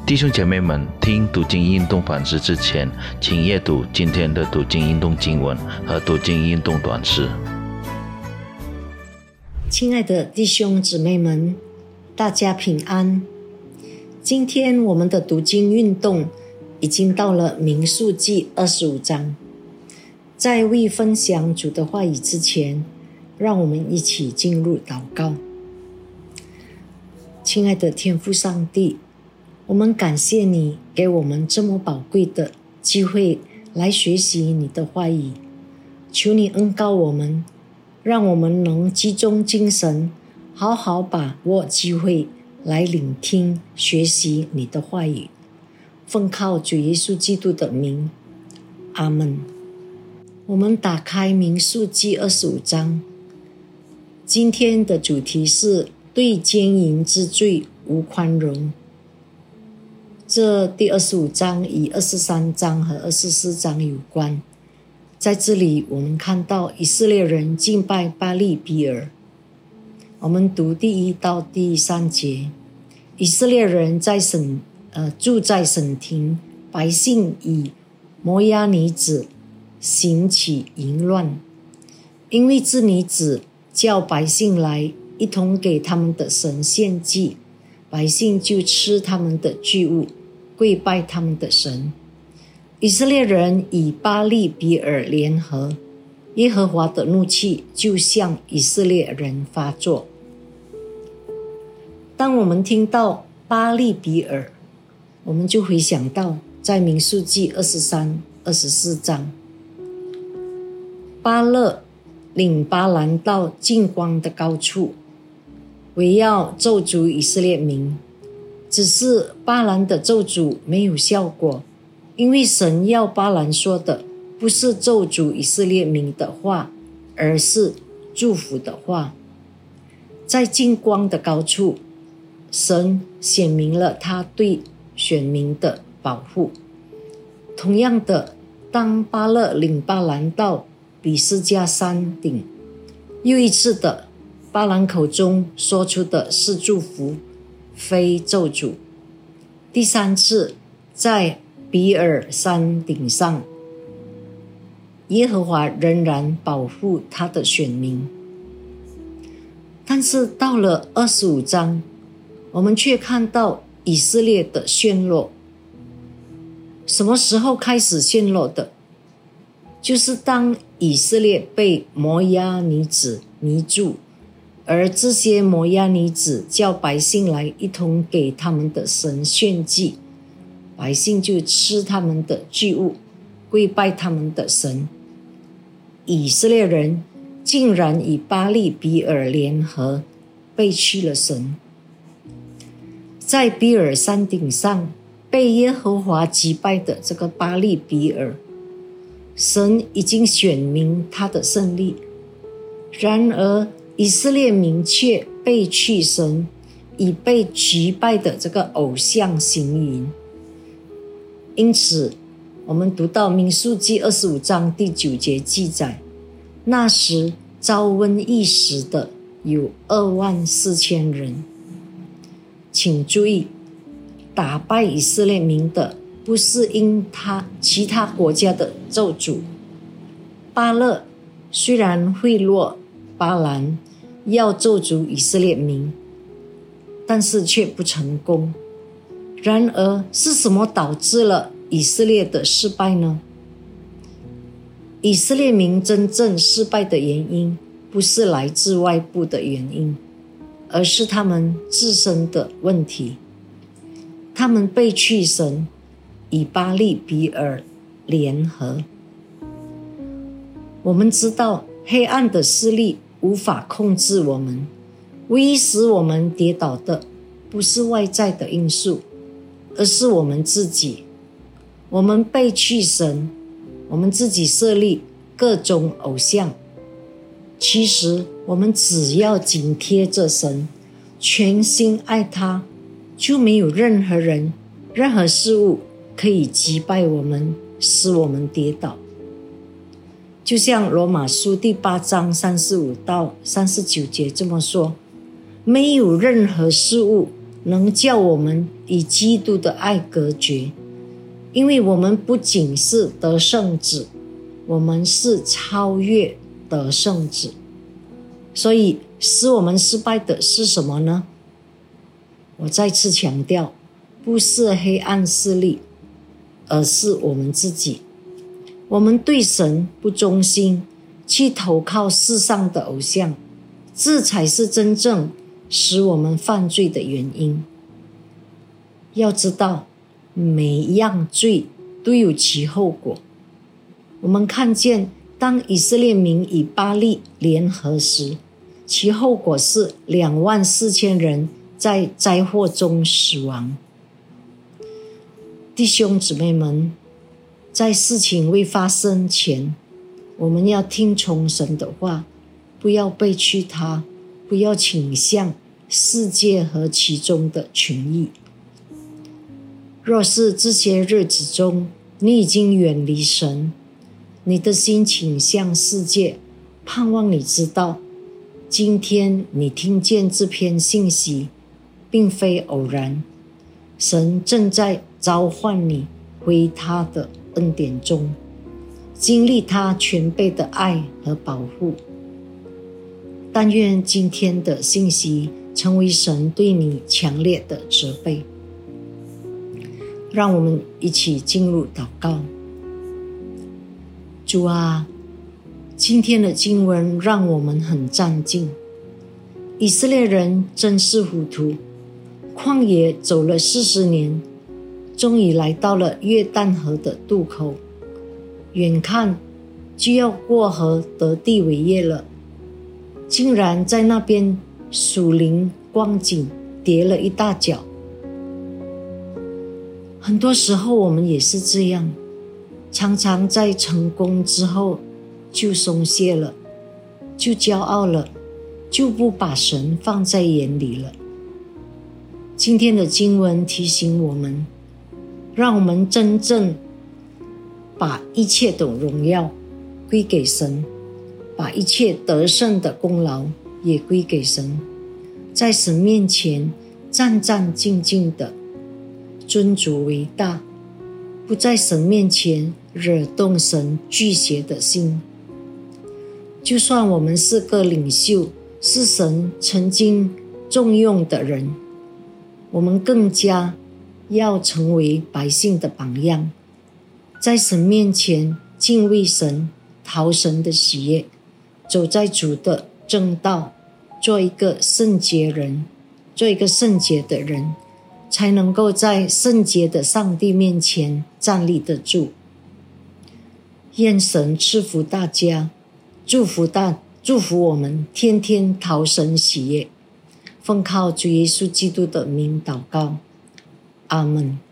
弟兄姐妹们，听读经运动反思之前，请阅读今天的读经运动经文和读经运动短诗。 亲爱的弟兄姊妹们，大家平安。今天我们的读经运动已经到了民数记25章。在未分享主的话语之前，让我们一起进入祷告。亲爱的天父上帝，我们感谢你给我们这么宝贵的机会来学习你的话语，求你恩膏我们，让我们能集中精神，好好把握机会来聆听学习你的话语。奉靠主耶稣基督的名，阿们。我们打开民数记25章，今天的主题是对奸淫之罪无宽容。这第25章与23章和24章有关。在这里我们看到以色列人敬拜巴力比尔。我们读第1到第3节。以色列人住在省庭，百姓以摩押女子行起淫乱，因为这女子叫百姓来一同给他们的神献祭，百姓就吃他们的祭物，跪拜他们的神。以色列人与巴力比尔联合，耶和华的怒气就向以色列人发作。当我们听到巴力比尔，我们就回想到在民数记23、24章，巴勒领巴兰到近光的高处，为要咒诅以色列民。只是巴兰的咒诅没有效果，因为神要巴兰说的不是咒诅以色列民的话，而是祝福的话。在近光的高处，神显明了他对选民的保护。同样的，当巴勒领巴兰到比斯加山顶，又一次的，巴兰口中说出的是祝福，非咒诅。第3次，在比尔山顶上，耶和华仍然保护他的选民。但是到了25章，我们却看到以色列的陷落。什么时候开始陷落的？就是当以色列被摩押女子迷住，而这些摩押女子叫百姓来一同给他们的神献祭，百姓就吃他们的祭物，跪拜他们的神。以色列人竟然与巴力比尔联合，背弃了神。在比尔山顶上被耶和华击败的这个巴力比尔，神已经显明他的胜利，然而以色列民却背弃神，以被击败的这个偶像行淫。因此我们读到民数记25章第9节记载，那时遭瘟疫死的有24000人。请注意，打败以色列民的不是因其他国家的咒诅。巴勒虽然贿赂巴兰要咒诅以色列民，但是却不成功。然而是什么导致了以色列的失败呢？以色列民真正失败的原因不是来自外部的原因，而是他们自身的问题。他们背弃神，与巴力比尔联合。我们知道黑暗的势力无法控制我们，唯一使我们跌倒的不是外在的因素，而是我们自己。我们背弃神，我们自己设立各种偶像。其实我们只要紧贴着神，全心爱他，就没有任何人、任何事物可以击败我们，使我们跌倒。就像罗马书第8章35到39节这么说，没有任何事物能叫我们与基督的爱隔绝，因为我们不仅是得胜者，我们是超越得胜者。所以使我们失败的是什么呢？我再次强调，不是黑暗势力，而是我们自己。我们对神不忠心，去投靠世上的偶像，这才是真正使我们犯罪的原因。要知道，每一样罪都有其后果。我们看见，当以色列民与巴力联合时，其后果是24000人在灾祸中死亡。弟兄姊妹们，在事情未发生前，我们要听从神的话，不要背弃他，不要倾向世界和其中的权益。若是这些日子中你已经远离神，你的心倾向世界，盼望你知道，今天你听见这篇信息并非偶然，神正在召唤你回他的恩典中，经历他全备的爱和保护。但愿今天的信息成为神对你强烈的责备。让我们一起进入祷告。主啊，今天的经文让我们很战兢。以色列人真是糊涂，旷野走了40年，终于来到了约旦河的渡口，眼看就要过河得地为业了，竟然在那边属灵光景跌了一大跤。很多时候我们也是这样，常常在成功之后就松懈了，就骄傲了，就不把神放在眼里了。今天的经文提醒我们，让我们真正把一切的荣耀归给神，把一切得胜的功劳也归给神，在神面前战战兢兢的尊主为大，不在神面前惹动神惧邪的心。就算我们是个领袖，是神曾经重用的人，我们更加要成为百姓的榜样，在神面前敬畏神，讨神的喜悦，走在主的正道，做一个圣洁人，做一个圣洁的人，才能够在圣洁的上帝面前站立得住。愿神赐福大家，祝福我们天天讨神喜悦，奉靠主耶稣基督的名祷告，阿们。